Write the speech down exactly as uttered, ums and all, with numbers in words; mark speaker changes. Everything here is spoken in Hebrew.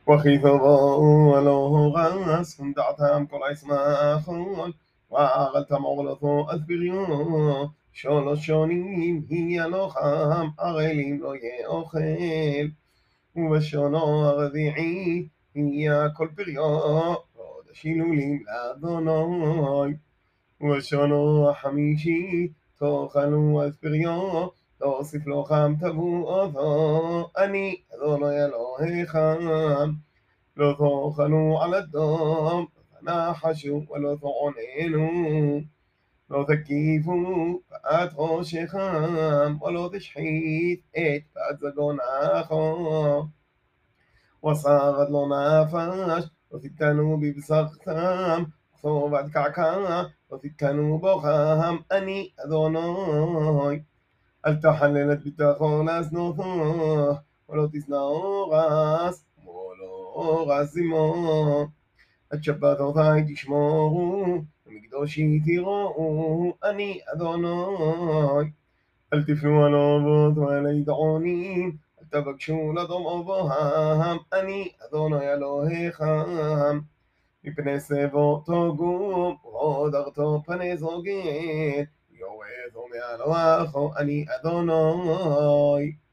Speaker 1: וכי תבואו הלא רס, ונדעתם כל עצמכם, וערלתם עורלתו אז בריאו, שלוש שונים יהיה לוחם, ערלים לא יאכל, ובשונו הרביעי יהיה כל פריו, חודש הילולים לאדוני, ובשונו החמישי תאכלו אז פריו, להוסיף לכם תבואתו, אני אדוני אלוהיכם. לא תאכלו על הדם, ותנחשו ולא תעוננו, לא תקיפו פאת ראשכם, ולא תשחית את פאת זגונך, וסרד לו נפש, לא תתקנו בבשרכם, וצובעת קעקע, לא תתקנו בוכם, אני אדוני. אל תחלל את ביטחון להזנותו, ולא תשנאו רס, ולא רס עמו. את שבתותי תשמורו, ומקדושי תראו, אני אדוני. אל תפנו על אובות ועל ידעונים, אל תבקשו לדום אבוהם, אני אדוני אלוהיכם. מפני סבו תוגום, והודרתו פני זוגית, יורדו מעל רחו, אני אדוני.